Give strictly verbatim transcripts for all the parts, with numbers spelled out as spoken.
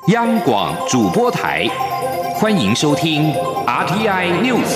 央广主播台，欢迎收听 R T I News。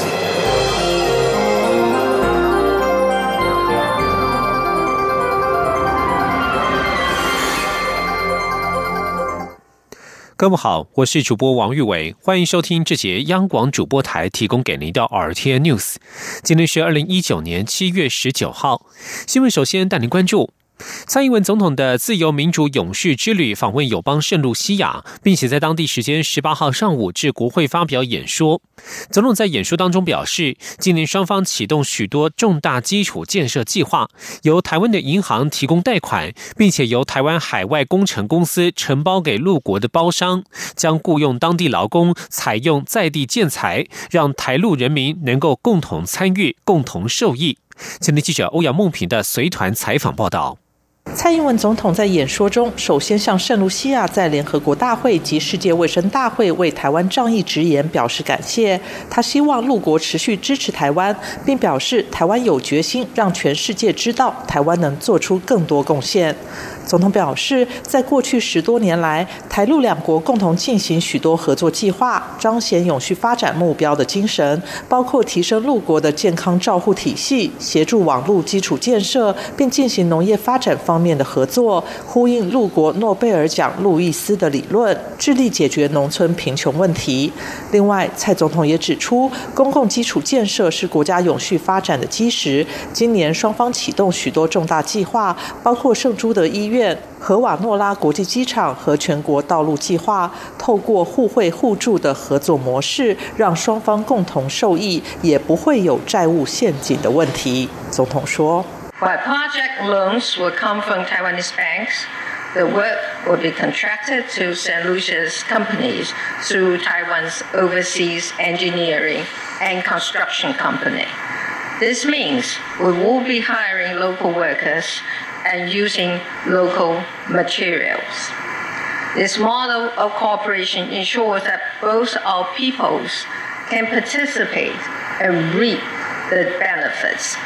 各位好，我是主播王玉伟，欢迎收听这节央广主播台提供给您的 R T I News。今天是二零一九年七月十九号，新闻首先带您关注。蔡英文总统的自由民主永续之旅访问友邦圣露西亚，并且在当地时间十八号上午至国会发表演说。总统在演说当中表示，今年双方启动许多重大基础建设计划，由台湾的银行提供贷款，并且由台湾海外工程公司承包给陆国的包商，将雇用当地劳工，采用在地建材，让台陆人民能够共同参与，共同受益。前天记者欧阳梦平的随团采访报道。 蔡英文总统在演说中，首先向圣露西亚在联合国大会及世界卫生大会为台湾仗义直言表示感谢。他希望陆国持续支持台湾，并表示台湾有决心让全世界知道台湾能做出更多贡献。总统表示，在过去十多年来，台陆两国共同进行许多合作计划，彰显永续发展目标的精神，包括提升陆国的健康照护体系，协助网络基础建设，并进行农业发展方面的合作，呼应陆国诺贝尔奖路易斯的理论，致力解决农村贫穷问题。另外，蔡总统也指出，公共基础建设是国家永续发展的基石。今年双方启动许多重大计划，包括圣朱德医院、荷瓦诺拉国际机场和全国道路计划，透过互惠互助的合作模式，让双方共同受益，也不会有债务陷阱的问题。总统说， While project loans will come from Taiwanese banks, the work will be contracted to Saint Lucia's companies through Taiwan's Overseas Engineering and Construction Company. This means we will be hiring local workers and using local materials. This model of cooperation ensures that both our peoples can participate and reap the benefits.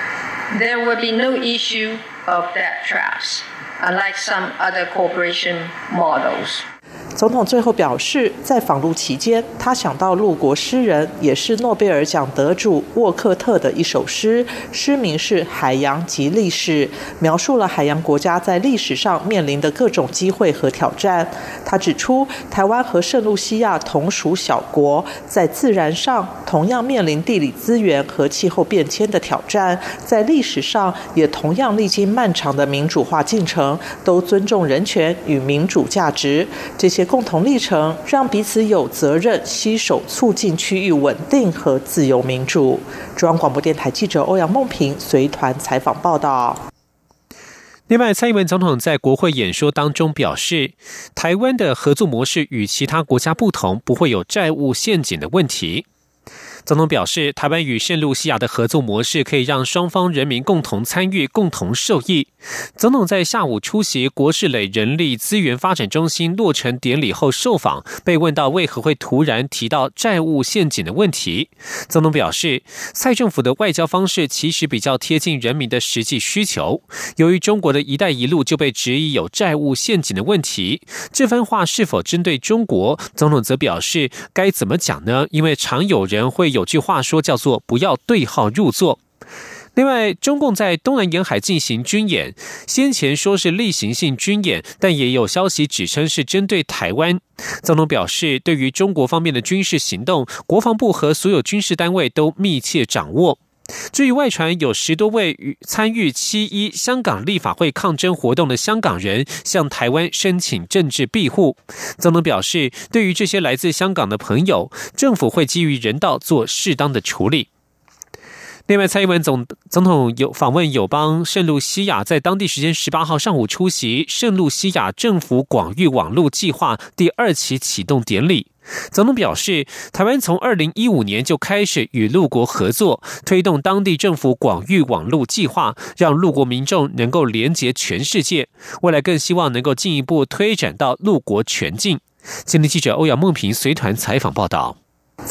There will be no issue of debt traps, unlike some other cooperation models. 总统最后表示，在访陆期间，他想到陆国诗人也是诺贝尔奖得主沃克特的一首诗，诗名是《海洋及历史》，描述了海洋国家在历史上面临的各种机会和挑战。他指出，台湾和圣露西亚同属小国，在自然上同样面临地理资源和气候变迁的挑战，在历史上也同样历经漫长的民主化进程，都尊重人权与民主价值。这些共同历程让彼此有责任携手促进区域稳定和自由民主。中央广播电台记者欧阳梦平随团采访报道。 另外，蔡英文总统在国会演说当中表示，台湾的合作模式与其他国家不同，不会有债务陷阱的问题。总统表示，台湾与圣露西亚的合作模式可以让双方人民共同参与、共同受益。总统在下午出席国士磊人力资源发展中心落成典礼后受访，被问到为何会突然提到债务陷阱的问题，总统表示，蔡政府的外交方式其实比较贴近人民的实际需求。由于中国的一带一路就被质疑有债务陷阱的问题，这番话是否针对中国，总统则表示该怎么讲呢？因为常有人会有句话说叫做不要对号入座。另外，中共在东南沿海进行军演，先前说是例行性军演，但也有消息指称是针对台湾。总统表示，对于中国方面的军事行动，国防部和所有军事单位都密切掌握。至于外传有十多位参与七一香港立法会抗争活动的香港人向台湾申请政治庇护，总统表示，对于这些来自香港的朋友，政府会基于人道做适当的处理。另外，蔡英文总总统有访问友邦圣露西亚，在当地时间十八号上午出席圣露西亚政府广域网络计划第二期启动典礼。总统表示，台湾从二零一五年就开始与陆国合作，推动当地政府广域网络计划，让陆国民众能够连结全世界。未来更希望能够进一步推展到陆国全境。今天记者欧阳梦平随团采访报道。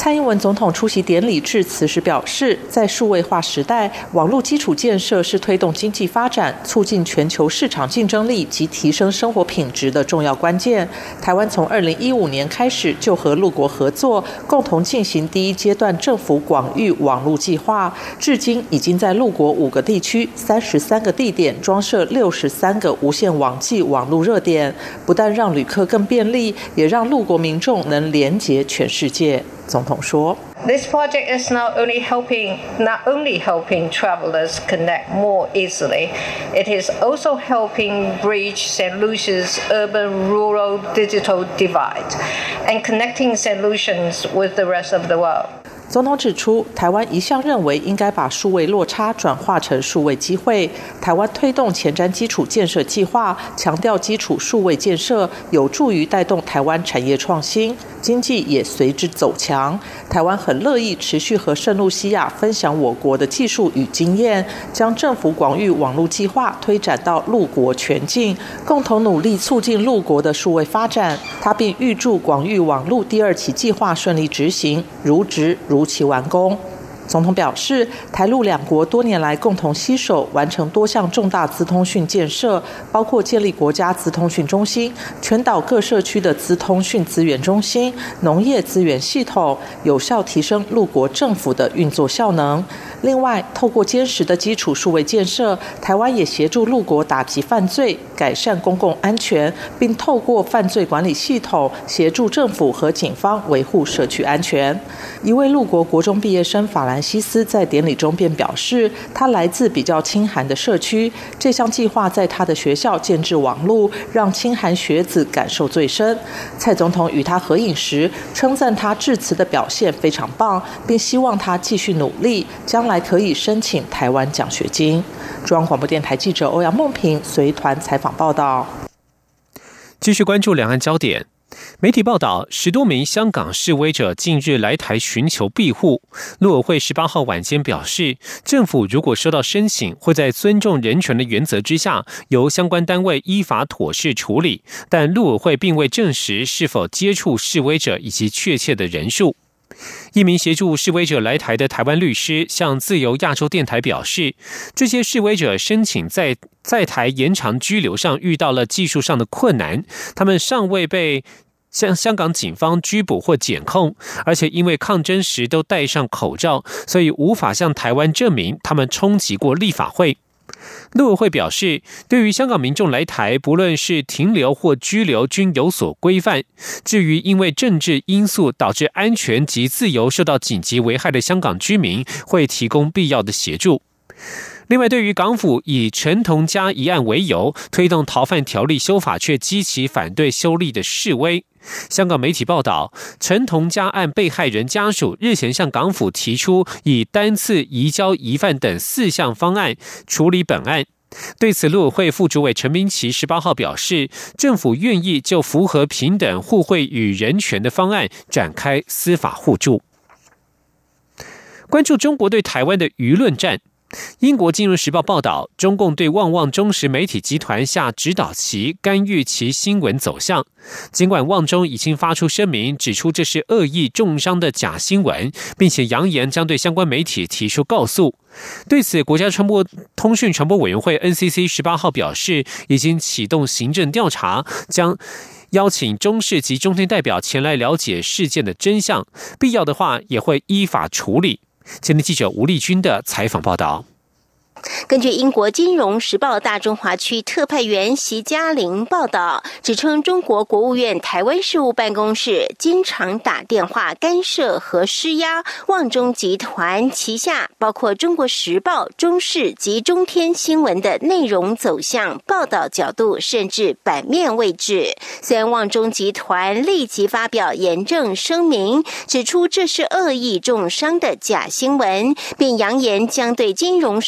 蔡英文总统出席典礼致辞时表示，在数位化时代，网络基础建设是推动经济发展、促进全球市场竞争力及提升生活品质的重要关键。台湾从二零一五年开始就和陆国合作，共同进行第一阶段政府广域网络计划，至今已经在陆国五个地区、三十三个地点装设六十三个无线网际网络热点，不但让旅客更便利，也让陆国民众能连结全世界。总统说 This project is not only helping, not only helping travelers connect more easily, it is also helping bridge Saint Lucia's urban-rural digital divide and connecting Saint Lucians with the rest of the world. 总统指出，台湾一向认为应该把数位落差转化成数位机会。台湾推动前瞻基础建设计划，强调基础数位建设有助于带动台湾产业创新，经济也随之走强。台湾很乐意持续和圣露西亚分享我国的技术与经验，将政府广域网络计划推展到陆国全境，共同努力促进陆国的数位发展。他并预祝广域网络第二期计划顺利执行，如职如期完工。总统表示，台陆两国多年来共同携手完成多项重大资通讯建设，包括建立国家资通讯中心、全岛各社区的资通讯资源中心、农业资源系统，有效提升陆国政府的运作效能。另外，透过坚实的基础数位建设，台湾也协助陆国打击犯罪、改善公共安全，并透过犯罪管理系统协助政府和警方维护社区安全。一位陆国国中毕业生法兰西斯在典礼中便表示，他来自比较清寒的社区，这项计划在他的学校建置网路，让清寒学子感受最深。蔡总统与他合影时，称赞他致辞的表现非常棒，并希望他继续努力，将来可以申请台湾奖学金。中央广播电台记者欧阳梦平随团采访报道。 继续关注两岸焦点。媒体报道，十多名香港示威者近日来台寻求庇护。陆委会十八号晚间表示，政府如果收到申请，会在尊重人权的原则之下，由相关单位依法妥适处理。但陆委会并未证实是否接触示威者以及确切的人数。一名协助示威者来台的台湾律师向自由亚洲电台表示，这些示威者申请在在台延长居留上遇到了技术上的困难，他们尚未被向香港警方拘捕或检控，而且因为抗争时都戴上口罩，所以无法向台湾证明他们冲击过立法会。陆委会表示，对于香港民众来台，不论是停留或居留均有所规范。至于因为政治因素导致安全及自由受到紧急危害的香港居民，会提供必要的协助。另外，对于港府以陈同佳一案为由推动逃犯条例修法，却激起反对修例的示威，香港媒体报道，陈同佳案被害人家属日前向港府提出以单次移交疑犯等四项方案处理本案。对此，陆委会副主委陈明奇十八号表示，政府愿意就符合平等、互惠与人权的方案展开司法互助。关注中国对台湾的舆论战。英国金融时报报道，中共对旺旺中时媒体集团下指导棋，干预其新闻走向。尽管旺中已经发出声明，指出这是恶意重伤的假新闻，并且扬言将对相关媒体提出告诉。对此，国家传播通讯传播委员会 N C C 十八号表示，已经启动行政调查，将邀请中视及中天代表前来了解事件的真相，必要的话也会依法处理。前天记者吴丽君的采访报道。 根据英国金融时报大中华区特派员席嘉玲报道，指称中国国务院台湾事务办公室经常打电话干涉和施压旺中集团旗下包括中国时报、中视及中天新闻的内容走向、报道角度甚至版面位置。虽然旺中集团立即发表严正声明，指出这是恶意重伤的假新闻，并扬言将对金融时报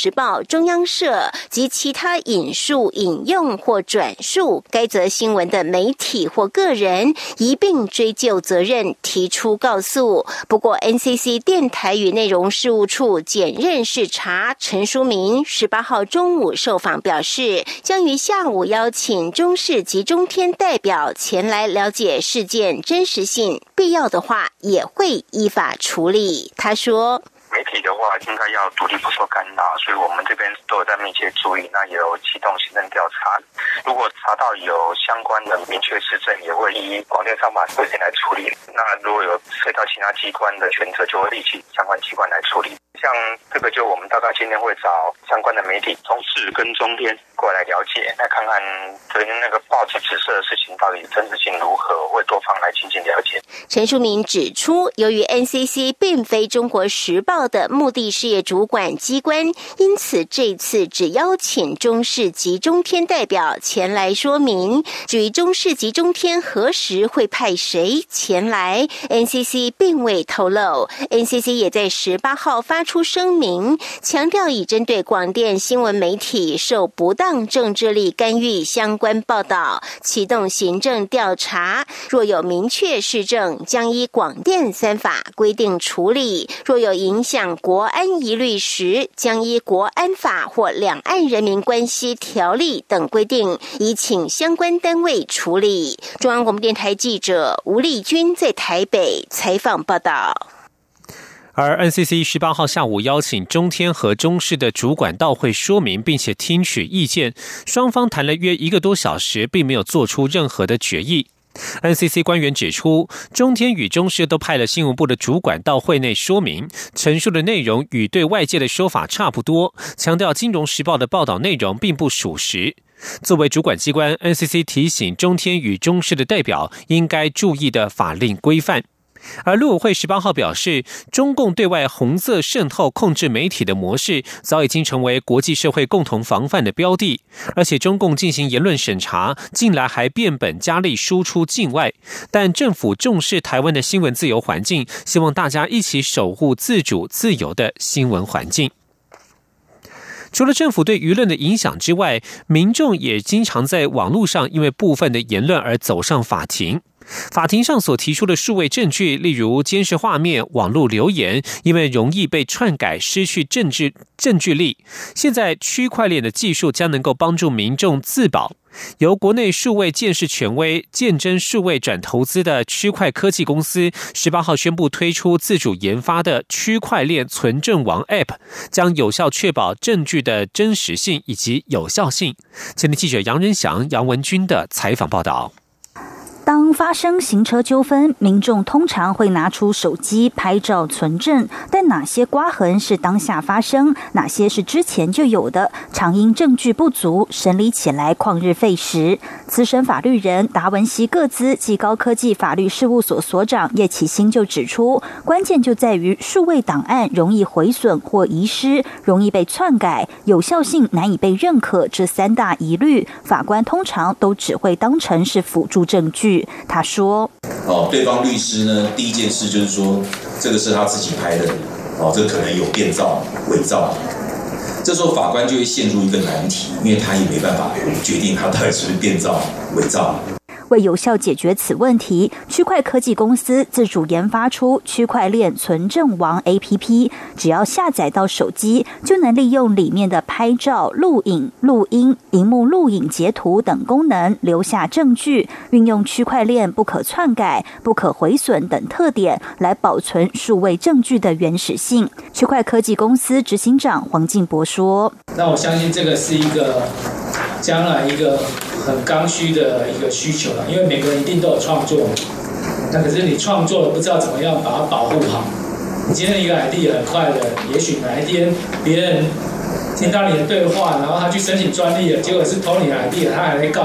报、中央社及其他引述、引用或转述该则新闻的媒体或个人，一并追究责任，提出告诉。不过 N C C 电台与内容事务处检任视察陈书明十八号中午受访表示，将于下午邀请中视及中天代表前来了解事件真实性，必要的话也会依法处理。他说， 媒体的话应该要独立不受干扰，所以我们这边都有在密切注意，那也有启动行政调查。如果查到有相关的明确事证，也会依广电商法规定来处理。那如果有涉及到其他机关的权责，就会立即相关机关来处理。像这个就我们大概今天会找相关的媒体中视跟中天过来了解，来看看昨天那个报纸指涉的事情到底真实性如何，会多方来进行了解。 陈书明指出，由于 N C C 并非中国时报的目的事业主管机关，因此这次只邀请中视及中天代表前来说明。至于中视及中天何时会派谁前来， N C C 并未透露。 N C C 也在十八号发出声明，强调已针对广电新闻媒体受不当政治力干预相关报道启动行政调查，若有明确事证，将依广电三法规定处理；若有影响国安疑虑时，将依国安法或两岸人民关系条例等规定，已请相关单位处理。中央广播电台记者吴丽君在台北采访报道。 而 N C C 十八号下午邀请中天和中视的主管到会说明，并且听取意见，双方谈了约一个多小时，并没有做出任何的决议。N C C 官员指出，中天与中视都派了新闻部的主管到会内说明，陈述的内容与对外界的说法差不多，强调《金融时报》的报道内容并不属实。作为主管机关， N C C 提醒中天与中视的代表应该注意的法令规范。而陆委会十八号表示，中共对外红色渗透控制媒体的模式早已经成为国际社会共同防范的标的，而且中共进行言论审查，近来还变本加厉输出境外。但政府重视台湾的新闻自由环境，希望大家一起守护自主自由的新闻环境。除了政府对舆论的影响之外，民众也经常在网络上因为部分的言论而走上法庭。法庭上所提出的数位证据，例如监视画面、网络留言，因为容易被篡改，失去证据证据力。现在区块链的技术将能够帮助民众自保。由国内数位鉴识权威鉴真数位转投资的区块科技公司十八号宣布推出自主研发的区块链存证王 App， 将有效确保证据的真实性以及有效性。前天记者杨仁祥、杨文君的采访报道。 当发生行车纠纷，民众通常会拿出手机拍照存证，但哪些刮痕是当下发生，哪些是之前就有的，常因证据不足，审理起来旷日费时。资深法律人达文西个资及高科技法律事务所所长叶启新就指出，关键就在于数位档案容易毁损或遗失，容易被篡改，有效性难以被认可，这三大疑虑，法官通常都只会当成是辅助证据。他说：“ 哦，对方律师呢，第一件事就是说，这个是他自己拍的，哦，这可能有变造、伪造。这时候法官就会陷入一个难题，因为他也没办法决定他到底是不是变造、伪造。” 为有效解决此问题，区块科技公司自主研发出区块链存证王 A P P， 只要下载到手机，就能利用里面的拍照、录影、录音、萤幕录影截图等功能留下证据，运用区块链不可篡改、不可毁损等特点来保存数位证据的原始性。区块科技公司执行长黄进博说：“ 那我相信这个是一个将来一个很刚需的一个需求了，因为每个人一定都有创作，那可是你创作了不知道怎么样把它保护好。你今天一个 idea 很快的，也许哪一天别人听到你的对话，然后他去申请专利了，结果是偷你的 idea， 他还会告你。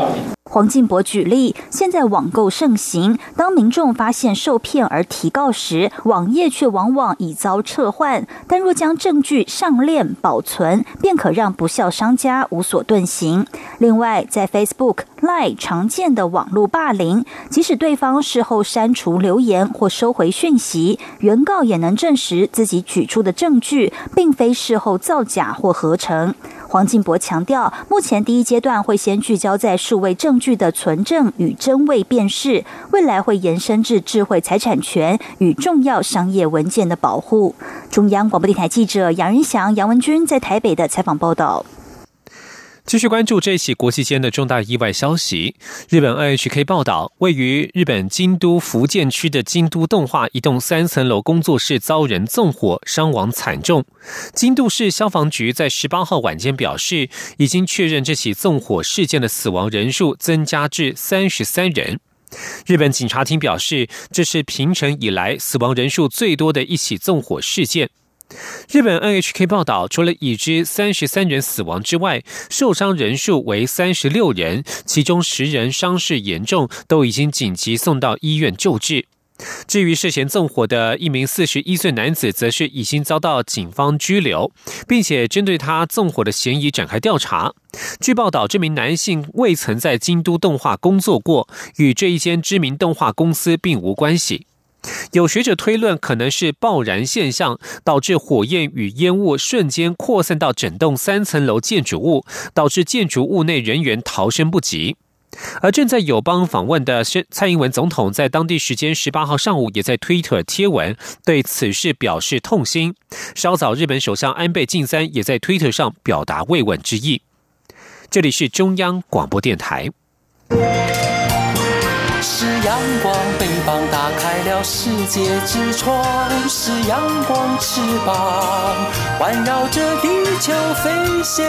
黄进博举例，现在网购盛行，当民众发现受骗而提告时，网页却往往已遭撤换，但若将证据上链保存，便可让不肖商家无所遁形。另外，在 Facebook、Line 常见的网络霸凌，即使对方事后删除留言或收回讯息，原告也能证实自己举出的证据并非事后造假或合成。黄进博强调，目前第一阶段会先聚焦在数位证据的存证与真伪辨识，未来会延伸至智慧财产权与重要商业文件的保护。中央广播电台记者杨仁祥、杨文君在台北的采访报道。 继续关注这起国际间的重大意外消息。日本 N H K 报道，位于日本京都伏见区的京都动画一栋三层楼工作室遭人纵火，伤亡惨重。京都市消防局在十八号晚间表示，已经确认这起纵火事件的死亡人数增加至三十三人。日本警察厅表示，这是平成以来死亡人数最多的一起纵火事件。日本 N H K 报道，除了已知三十三人死亡之外，受伤人数为三十六人，其中十人伤势严重，都已经紧急送到医院救治。至于涉嫌纵火的一名四十一岁男子，则是已经遭到警方拘留，并且针对他纵火的嫌疑展开调查。据报道，这名男性未曾在京都动画工作过，与这一间知名动画公司并无关系。有学者推论，可能是爆燃现象导致火焰与烟雾瞬间扩散到整栋三层楼建筑物，导致建筑物内人员逃生不及。而正在友邦访问的蔡英文总统，在当地时间十八号上午也在推特贴文，对此事表示痛心。稍早，日本首相安倍晋三也在推特上表达慰问之意。这里是中央广播电台。 是阳光，翅膀打开了世界之窗，是阳光翅膀环绕着地球飞翔。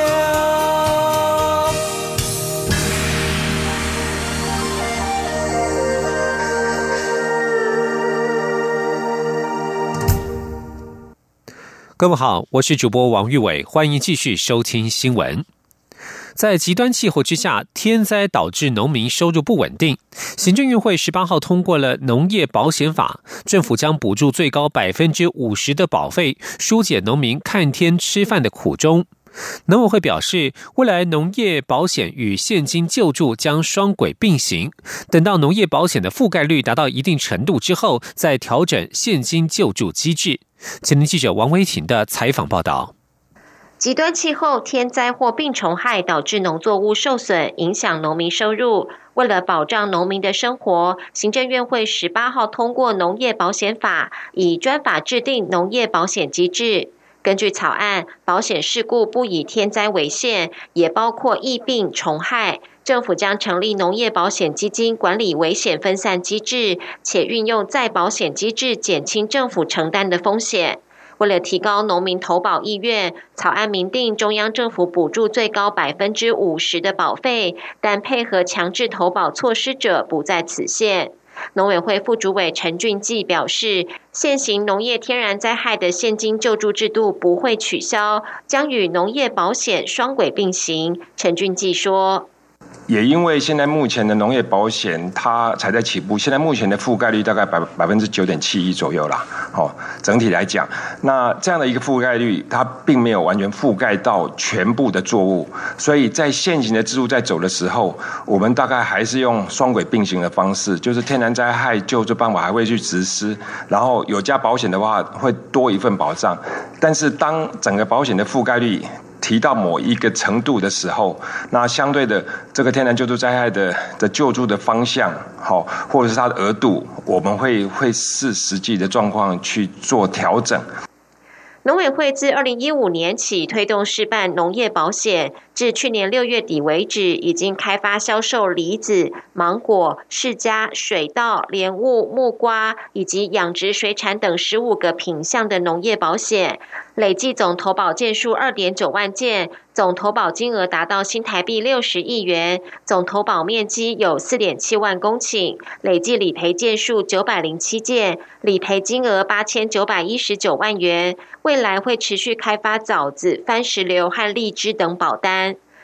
各位好，我是主播王玉伟，欢迎继续收听新闻。在极端气候之下，天灾导致农民收入不稳定。行政院会十八号通过了农业保险法，政府将补助最高百分之五十的保费，疏解农民看天吃饭的苦衷。农委会表示，未来农业保险与现金救助将双轨并行，等到农业保险的覆盖率达到一定程度之后，再调整现金救助机制。前天记者王威婷的采访报道。 极端气候、天灾或病虫害导致农作物受损，影响农民收入。为了保障农民的生活，行政院会十八号通过农业保险法，以专法制定农业保险机制。根据草案，保险事故不以天灾为限，也包括疫病、虫害。政府将成立农业保险基金，管理危险分散机制，且运用再保险机制减轻政府承担的风险。为了提高农民投保意愿，草案明定中央政府补助最高百分之五十的保费，但配合强制投保措施者不在此限。农委会副主委陈俊记表示，现行农业天然灾害的现金救助制度不会取消，将与农业保险双轨并行。陈俊记说， 也因为现在目前的农业保险它才在起步，现在目前的覆盖率大概百百分之九点七一左右啦。好，整体来讲，那这样的一个覆盖率，它并没有完全覆盖到全部的作物，所以在现行的制度在走的时候，我们大概还是用双轨并行的方式，就是天然灾害救助办法还会去实施，然后有加保险的话会多一份保障，但是当整个保险的覆盖率提到某一个程度的时候，那相对的这个天然救助灾害的的救助的方向，好，或者是它的额度，我们会会视实际的状况去做调整。 农委会自二零一五年起推动试办农业保险，至去年六月底为止，已经开发销售梨子、芒果、释迦、水稻、莲雾、木瓜以及养殖水产等十五个品项的农业保险，累计总投保件数二点九万件，总投保金额达到新台币六十亿元，总投保面积有四点七万公顷，累计理赔件数九百零七件，理赔金额八千九百一十九万元。未来会持续开发枣子、番石榴和荔枝等保单。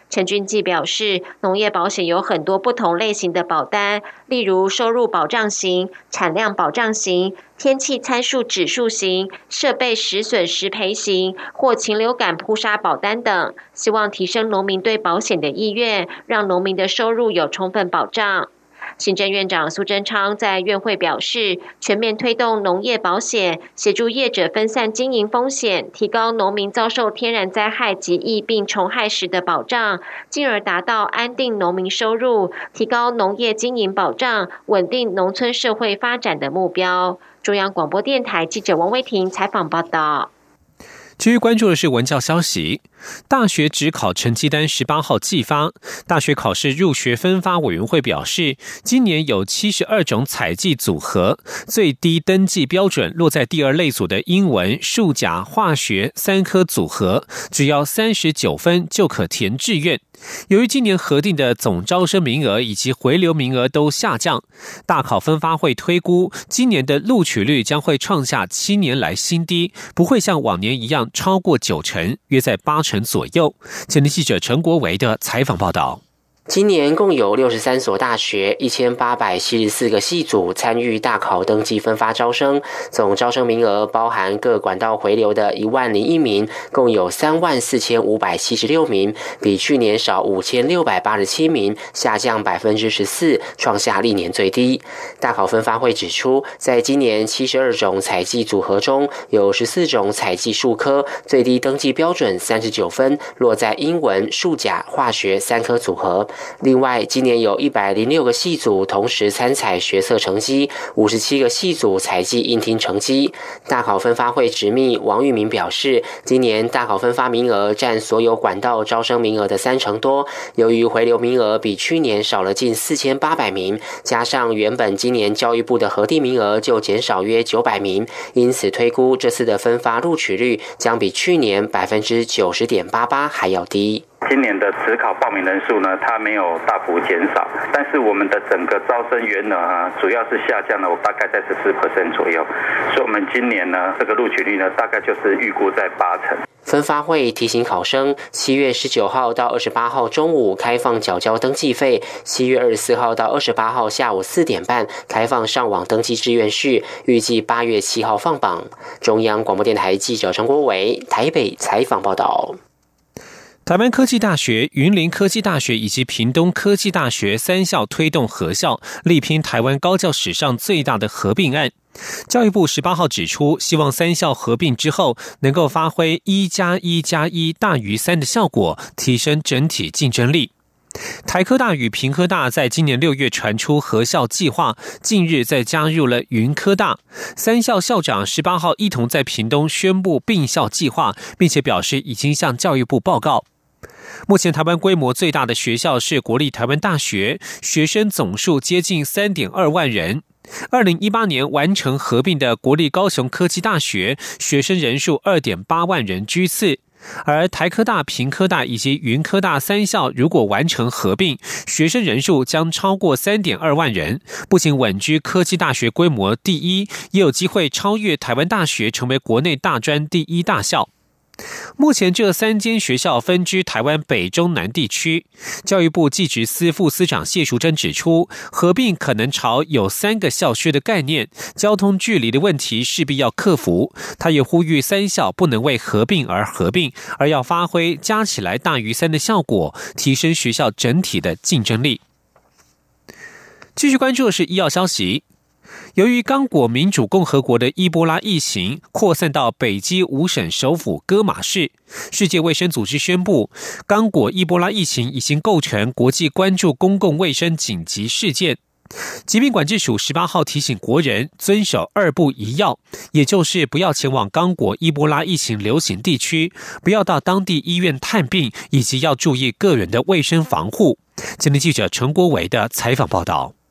陈俊记表示，农业保险有很多不同类型的保单，例如收入保障型、产量保障型、天气参数指数型、设备实损实赔型或禽流感扑杀保单等，希望提升农民对保险的意愿，让农民的收入有充分保障。行政院长苏贞昌在院会表示，全面推动农业保险，协助业者分散经营风险，提高农民遭受天然灾害及疫病虫害时的保障，进而达到安定农民收入，提高农业经营保障，稳定农村社会发展的目标。中央广播电台记者王威婷采访报道。 至于关注的是文教消息，大学指考成绩单十八号寄发。大学考试入学分发委员会表示，今年有七十二种采计组合，最低登记标准落在第二类组的英文、数甲、化学三科组合，只要三十九分就可填志愿。由于今年核定的总招生名额以及回流名额都下降，大考分发会推估今年的录取率将会创下七年来新低，不会像往年一样超过九成，约在八成左右。前天记者陈国维的采访报道。 今年共有六十三所大学、一千八百七十四个系组参与大考登记分发招生，总招生名额包含各管道回流的一万零一名，共有三万四千五百七十六名，比去年少五千六百八十七名，下降百分之十四，创下历年最低。大考分发会指出，在今年七十二种采计组合中，有十四种采计数科，最低登记标准三十九分，落在英文、数甲、化学三科组合。另外，今年有一百零六个系组同时参采学测成绩，五十七个系组采计应听成绩。大考分发会执秘王玉明表示，今年大考分发名额占所有管道招生名额的三成多，由于回流名额比去年少了近四千八百名，加上原本今年教育部的核定名额就减少约九百名，因此推估这次的分发录取率将比去年百分之九十点八八还要低。 今年的指考报名人数呢，它没有大幅减少，但是我们的整个招生员额啊，主要是下降了，我大概在 百分之十四 左右，所以我们今年呢，这个录取率呢，大概就是预估在八成。 分发会提醒考生，七月十九号到二十八号中午开放缴交登记费，七月二十四号到二十八号下午四点半开放上网登记志愿序，预计八月七号放榜。中央广播电台记者陈国伟台北采访报道。 台湾科技大学、云林科技大学以及屏东科技大学三校推动合校，力拼台湾高教史上最大的合并案。教育部十八号指出，希望三校合并之后能够发挥一加一加一大于三的效果，提升整体竞争力。台科大与屏科大在今年六月传出合校计划，近日再加入了云科大。三校校长十八号一同在屏东宣布并校计划，并且表示已经向教育部报告。目前台湾规模最大的学校是国立台湾大学，学生总数接近 三点二万人。二零一八年完成合并的国立高雄科技大学，学生人数 二点八万人居次。而台科大、屏科大以及云科大三校如果完成合并，学生人数将超过 三点二万人，不仅稳居科技大学规模第一，也有机会超越台湾大学，成为国内大专第一大校。目前这三间学校分居台湾北中南地区。教育部技职司副司长谢淑珍指出，合并可能朝有三个校区的概念，交通距离的问题势必要克服。他也呼吁三校不能为合并而合并，而要发挥加起来大于三的效果，提升学校整体的竞争力。继续关注的是医药消息。由于刚果民主共和国的伊波拉疫情扩散到北基五省首府戈马市，世界卫生组织宣布，刚果伊波拉疫情已经构成国际关注公共卫生紧急事件。疾病管制署十八号提醒国人遵守二不一要，也就是不要前往刚果伊波拉疫情流行地区，不要到当地医院探病，以及要注意个人的卫生防护。今天记者陈国维的采访报道。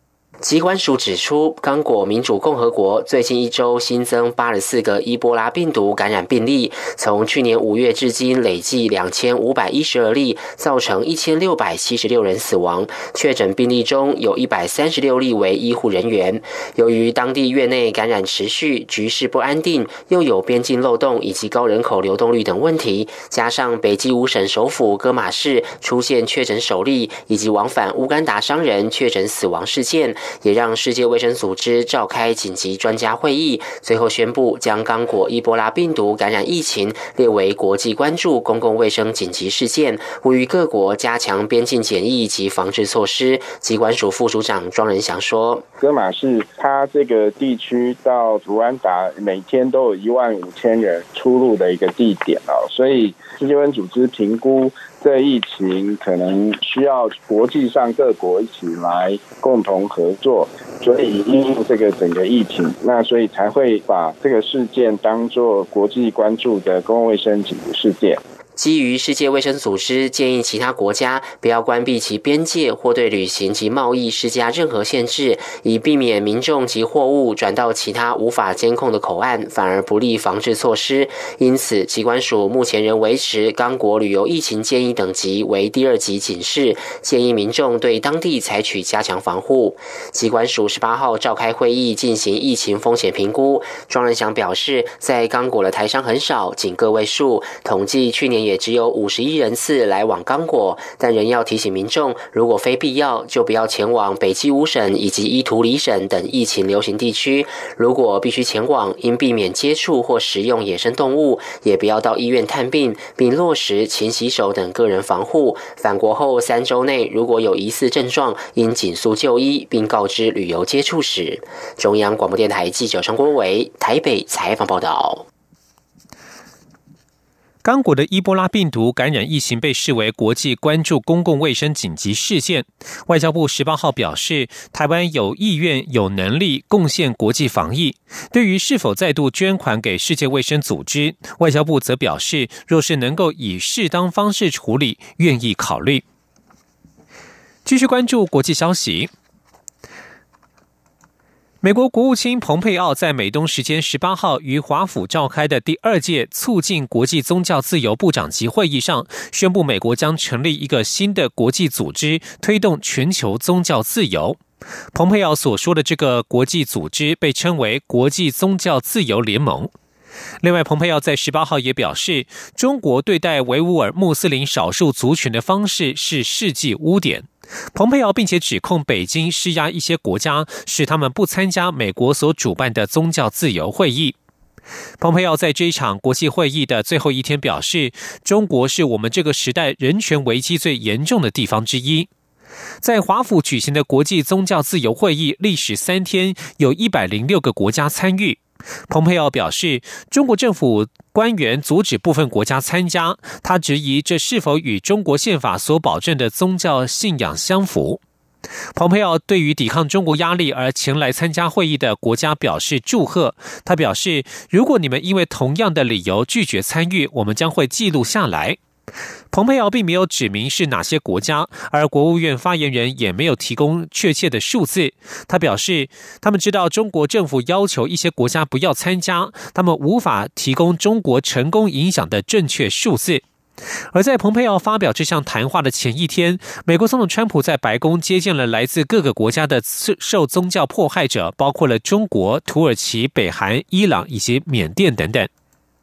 疾管署指出，刚果民主共和国最近一周新增八十四个伊波拉病毒感染病例，从去年五月至今累计两千五百一十二例，造成一千六百七十六人死亡。确诊病例中有一百三十六例为医护人员。由于当地院内感染持续，局势不安定，又有边境漏洞以及高人口流动率等问题，加上北基五省首府戈马市出现确诊首例，以及往返乌干达商人确诊死亡事件，也让世界卫生组织召开紧急专家会议，最后宣布将刚果伊波拉病毒感染疫情列为国际关注公共卫生紧急事件，呼吁各国加强边境检疫及防治措施。疾管署副署长庄仁祥说：“ 戈马市它这个地区到卢安达每天都有一万五千人出入的一个地点哦，所以世界卫生组织评估这疫情可能需要国际上各国一起来共同合作，所以因应这个整个疫情，那所以才会把这个事件当作国际关注的公共卫生紧急事件。” 基于世界卫生组织建议其他国家不要关闭其边界或对旅行及贸易施加任何限制，以避免民众及货物转到其他无法监控的口岸，反而不利防治措施。因此，疾管署目前仍维持刚果旅游疫情建议等级为第二级警示，建议民众对当地采取加强防护。疾管署十八号召开会议进行疫情风险评估。庄仁祥表示，在刚果的台商很少，仅个位数，统计去年也只有五十一人次来往刚果，但仍要提醒民众，如果非必要，就不要前往北基五省以及伊图里省等疫情流行地区。如果必须前往，应避免接触或食用野生动物，也不要到医院探病，并落实勤洗手等个人防护。返国后三周内，如果有疑似症状，应紧速就医，并告知旅游接触史。中央广播电台记者张国维台北采访报道。 刚果的伊波拉病毒感染疫情被视为国际关注公共卫生紧急事件。外交部十八号表示，台湾有意愿、有能力贡献国际防疫。对于是否再度捐款给世界卫生组织，外交部则表示，若是能够以适当方式处理，愿意考虑。继续关注国际消息。美国国务卿蓬佩奥在美东时间十八号于华府召开的第二届促进国际宗教自由部长级会议上，宣布美国将成立一个新的国际组织，推动全球宗教自由。蓬佩奥所说的这个国际组织被称为国际宗教自由联盟。另外，蓬佩奥在十八号也表示，中国对待维吾尔穆斯林少数族群的方式是世纪污点。蓬佩奥并且指控北京施压一些国家，使他们不参加美国所主办的宗教自由会议。蓬佩奥在这一场国际会议的最后一天表示，中国是我们这个时代人权危机最严重的地方之一。在华府举行的国际宗教自由会议历时三天，有一百零六个国家参与。蓬佩奥表示，中国政府官员阻止部分国家参加，他质疑这是否与中国宪法所保证的宗教信仰相符。蓬佩奥对于抵抗中国压力而前来参加会议的国家表示祝贺。他表示，如果你们因为同样的理由拒绝参与，我们将会记录下来。蓬佩奥并没有指明是哪些国家，而国务院发言人也没有提供确切的数字。他表示，他们知道中国政府要求一些国家不要参加，他们无法提供中国成功影响的正确数字。而在蓬佩奥发表这项谈话的前一天，美国总统川普在白宫接见了来自各个国家的受宗教迫害者，包括了中国、土耳其、北韩、伊朗以及缅甸等等。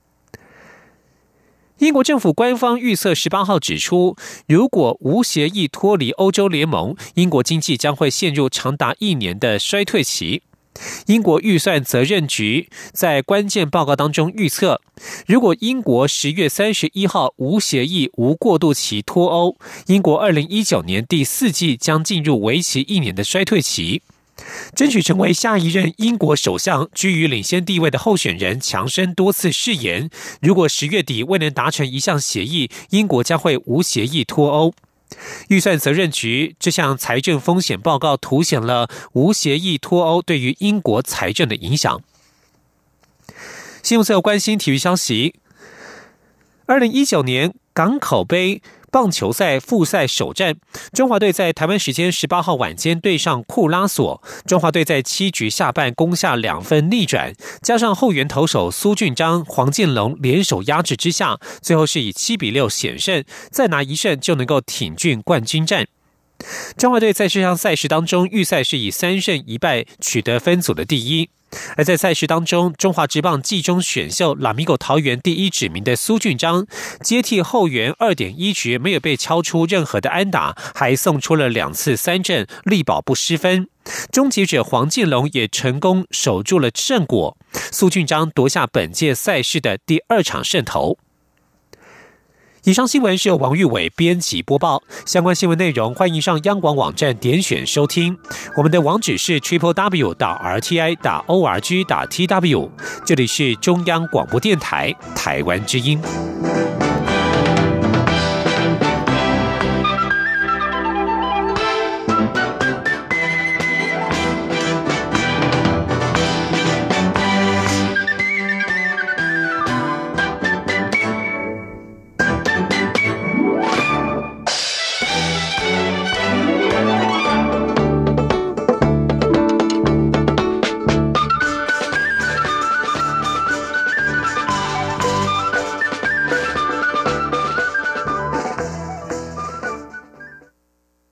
英国政府官方预测十八号指出，如果无协议脱离欧洲联盟，英国经济将会陷入长达一年的衰退期。英国预算责任局在关键报告当中预测，如果英国十月三十一号无协议、无过渡期脱欧，英国二零一九年第四季将进入为期一年的衰退期。争取成为下一任英国首相居于领先地位的候选人强生多次誓言，如果十月底未能达成一项协议，英国将会无协议脱欧。预算责任局这项财政风险报告凸显了无协议脱欧对于英国财政的影响。新闻最后关心体育消息。二零一九年港口杯棒球赛复赛首战，中华队在台湾时间十八号晚间对上库拉索，中华队在七局下半攻下两分逆转，加上后援投手苏俊章、黄建龙联手压制之下，最后是以七比六险胜，再拿一胜就能够挺进冠军战。中华队在这项赛事当中，预赛是以三胜一败取得分组的第一。而在赛事当中，中华职棒季中选秀拉米狗桃园第一指名的苏俊章，接替后援 二点一 局没有被敲出任何的安打，还送出了两次三振，力保不失分。终结者黄建龙也成功守住了胜果，苏俊章夺下本届赛事的第二场胜投。以上新闻是由王玉伟编辑播报，相关新闻内容欢迎上央广网站点选收听。我们的网址是 triple w 点 r t i 点 o r g 点 t w， 这里是中央广播电台台湾之音。